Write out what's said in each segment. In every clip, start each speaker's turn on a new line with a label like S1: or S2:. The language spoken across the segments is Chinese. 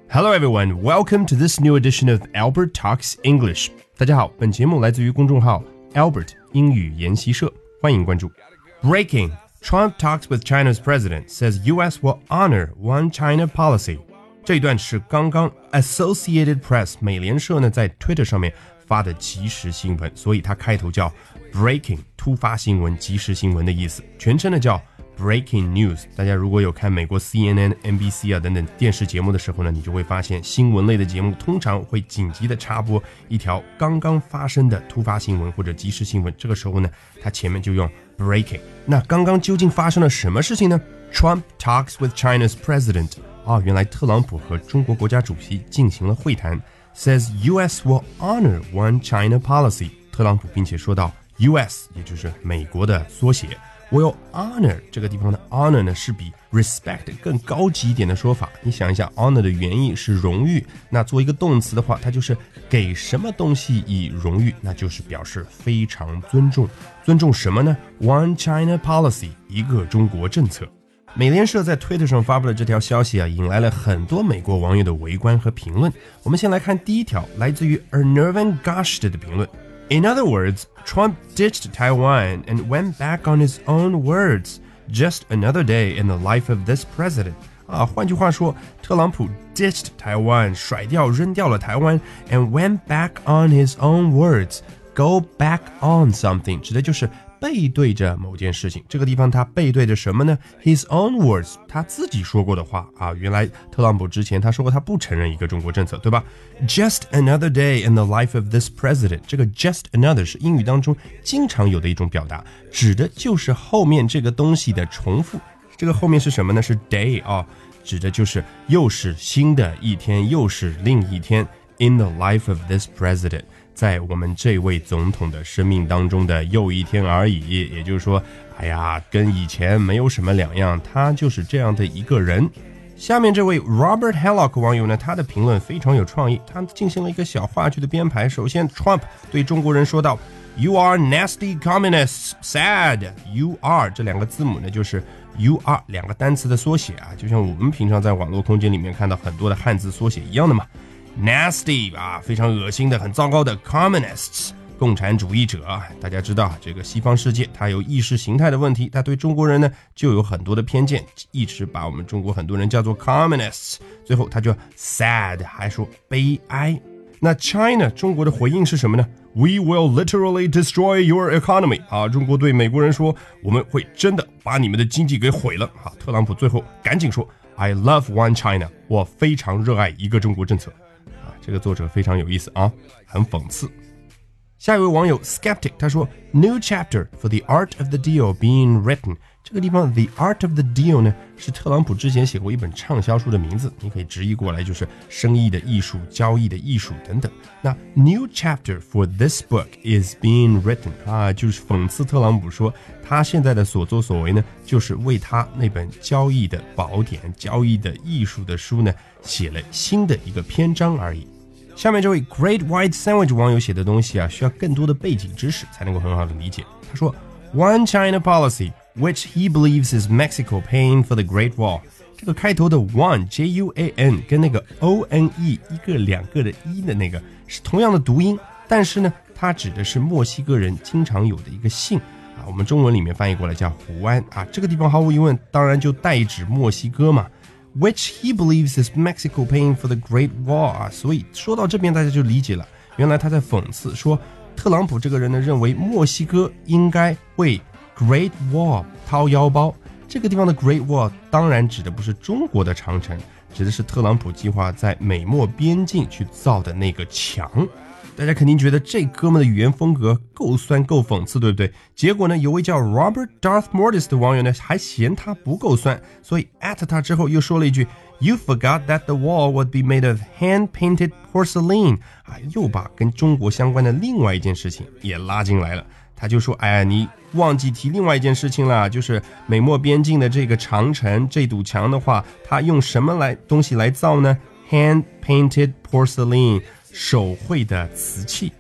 S1: Hello everyone, welcome to this new edition of Albert Talks English. 大家好，本节目来自于公众号 Albert 英语研习社，欢迎关注。Breaking, Trump talks with China's president, says US will honor One China policy. 这一段是刚刚 Associated Press 美联社呢在 Twitter 上面发的即时新闻，所以它开头叫 Breaking 突发新闻、即时新闻的意思，全称呢叫Breaking News。 大家如果有看美国 CNN、NBC 啊等等电视节目的时候呢，你就会发现新闻类的节目通常会紧急的插播一条刚刚发生的突发新闻或者即时新闻，这个时候呢它前面就用 Breaking。 那刚刚究竟发生了什么事情呢？ Trump talks with China's president。 原来特朗普和中国国家主席进行了会谈， says US will honor One China policy。 特朗普并且说到 US 也就是美国的缩写，Will honor 这个地方的 honor 呢是比 respect 更高级一点的说法。你想一下 honor 的原意是荣誉，那做一个动词的话，它就是给什么东西以荣誉，那就是表示非常尊重。尊重什么呢？ One China policy 一个中国政策。美联社在 Twitter 上发布的这条消息引来了很多美国网友的围观和评论。我们先来看第一条，来自于 Ernervan Gasht 的评论。In other words, Trump ditched Taiwan and went back on his own words. Just another day in the life of this president. 换句话说，特朗普 ditched Taiwan 甩掉扔掉了台湾 and went back on his own words. Go back on something 指的就是背对着某件事情，这个地方他背对着什么呢？ His own words 他自己说过的话原来特朗普之前他说过他不承认一个中国政策，对吧？ Just another day in the life of this president. 这个 just another 是英语当中经常有的一种表达，指的就是后面这个东西的重复。这个后面是什么呢？是 day 指的就是又是新的一天，又是另一天。 In the life of this president，在我们这位总统的生命当中的又一天而已，也就是说，跟以前没有什么两样，他就是这样的一个人。下面这位 Robert Hellock 网友呢，他的评论非常有创意，他进行了一个小话剧的编排。首先 Trump 对中国人说道 You are nasty communists, sad. You are 这两个字母呢就是 You are 两个单词的缩写就像我们平常在网络空间里面看到很多的汉字缩写一样的嘛。Nasty 非常恶心的很糟糕的 Communists 共产主义者。大家知道这个西方世界它有意识形态的问题，它对中国人呢就有很多的偏见，一直把我们中国很多人叫做 Communists， 最后他就 sad 还说悲哀。那 China 中国的回应是什么呢？ We will literally destroy your economy 中国对美国人说我们会真的把你们的经济给毁了特朗普最后赶紧说 I love One China， 我非常热爱一个中国政策。这个作者非常有意思很讽刺。下一位网友 Skeptic 他说 New chapter for the art of the deal being written。 这个地方 the art of the deal 呢是特朗普之前写过一本畅销书的名字，你可以直译过来就是生意的艺术、交易的艺术等等。那 New chapter for this book is being written 就是讽刺特朗普说他现在的所作所为呢就是为他那本交易的宝典、交易的艺术的书呢写了新的一个篇章而已。下面这位 Great White Sandwich 网友写的东西需要更多的背景知識才能够很好的理解。他说 One China policy which he believes is Mexico paying for the Great Wall。 这个开头的 One J-U-A-N 跟那个 O-N-E 一个两个的一的那个是同样的读音，但是呢它指的是墨西哥人经常有的一个姓我们中文里面翻译过来叫胡安这个地方毫无疑问当然就代指墨西哥嘛。Which he believes is Mexico paying for the Great Wall 所以说到这边大家就理解了，原来他在讽刺说特朗普这个人呢认为墨西哥应该为 Great Wall 掏腰包。这个地方的 Great Wall 当然指的不是中国的长城，指的是特朗普计划在美墨边境去造的那个墙。大家肯定觉得这哥们的语言风格够酸够讽刺，对不对？结果呢，有位叫 Robert Darth Mortis 的网友呢还嫌他不够酸，所以 at 他之后又说了一句 You forgot that the wall would be made of hand-painted porcelain 又把跟中国相关的另外一件事情也拉进来了。他就说你忘记提另外一件事情了，就是美墨边境的这个长城这堵墙的话，它用什么东西来造呢？ Hand-painted porcelain 手绘的瓷器。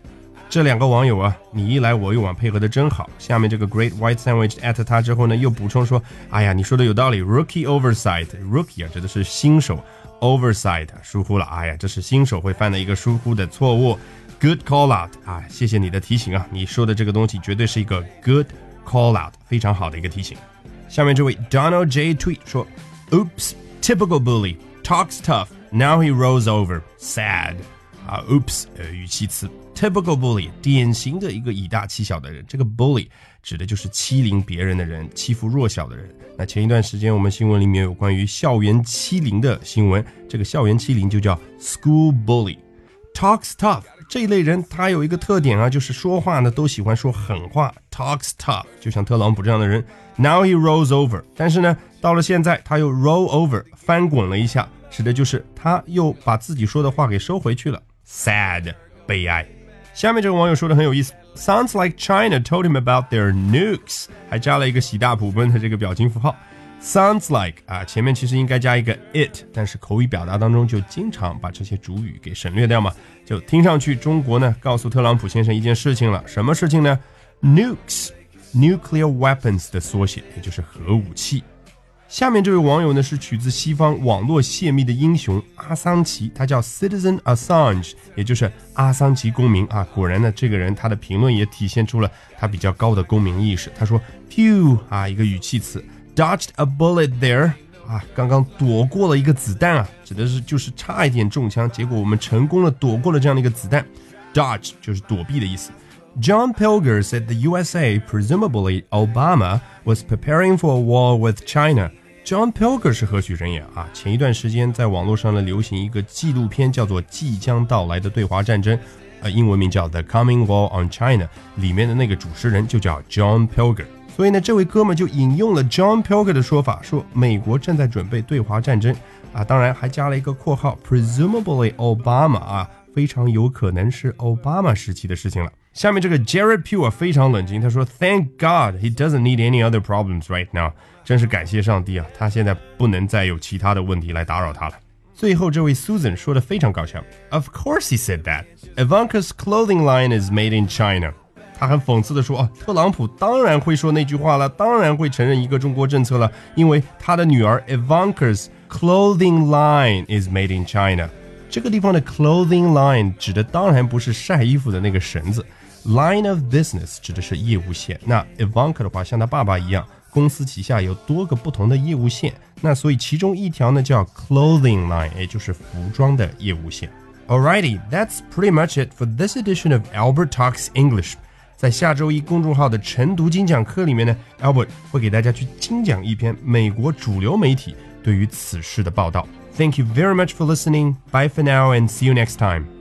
S1: 这两个网友啊，你一来我一往，配合的真好。下面这个 Great White Sandwich at 他之后呢，又补充说，哎呀，你说的有道理 ，Rookie oversight，Rookie 啊指的是新手 ，oversight 疏忽了，哎呀，这是新手会犯的一个疏忽的错误。Good call out 啊，谢谢你的提醒啊，你说的这个东西绝对是一个 good call out， 非常好的一个提醒。下面这位 Donald J tweet 说 ，Oops, typical bully, talks tough, now he rolls over, sad。啊 ，oops， 语气词 ，typical bully， 典型的一个以大欺小的人。这个 bully 指的就是欺凌别人的人，欺负弱小的人。那前一段时间我们新闻里面有关于校园欺凌的新闻，这个校园欺凌就叫 school bully。Talks tough 这一类人，他有一个特点啊，就是说话呢都喜欢说狠话。Talks tough， 就像特朗普这样的人。Now he rolls over， 但是呢，到了现在他又 roll over， 翻滚了一下，指的就是他又把自己说的话给收回去了。Sad， 悲哀。下面这个网友说的很有意思 ，Sounds like China told him about their nukes， 还加了一个喜大普奔的这个表情符号。Sounds like 啊，前面其实应该加一个 it， 但是口语表达当中就经常把这些主语给省略掉嘛，就听上去中国呢告诉特朗普先生一件事情了，什么事情呢 ？Nukes， nuclear weapons 的缩写，也就是核武器。下面这位网友呢是取自西方网络泄密的英雄阿桑奇，他叫 Citizen Assange， 也就是阿桑奇公民啊。果然呢，这个人他的评论也体现出了他比较高的公民意识。他说 Pew 啊，一个语气词 ，Dodged a bullet there 啊，刚刚躲过了一个子弹啊，指的是就是差一点中枪，结果我们成功的躲过了这样的一个子弹。Dodge 就是躲避的意思。John Pilger said the USA, presumably Obama, was preparing for a war with China.John Pilger 是何许人也啊？前一段时间在网络上呢流行一个纪录片，叫做《即将到来的对华战争》，英文名叫《The Coming War on China》，里面的那个主持人就叫 John Pilger。所以呢，这位哥们就引用了 John Pilger 的说法，说美国正在准备对华战争啊，当然还加了一个括号 ，presumably Obama 啊，非常有可能是奥巴马时期的事情了。下面这个 Jared Pugh 非常冷静，他说 Thank God he doesn't need any other problems right now， 真是感谢上帝啊，他现在不能再有其他的问题来打扰他了。最后这位 Susan 说的非常搞笑 Of course he said that Ivanka's clothing line is made in China， 他很讽刺的说特朗普当然会说那句话了，当然会承认一个中国政策了，因为他的女儿 Ivanka's clothing line is made in China。 这个地方的 clothing line 指的当然不是晒衣服的那个绳子，Line of business 指的是业务线，那 Ivanka 的话像他爸爸一样，公司旗下有多个不同的业务线，那所以其中一条呢叫 clothing line， 也就是服装的业务线。Alrighty, that's pretty much it for this edition of Albert Talks English。 在下周一公众号的晨读精讲课里面呢 Albert 会给大家去精讲一篇美国主流媒体对于此事的报道。Thank you very much for listening. Bye for now and see you next time.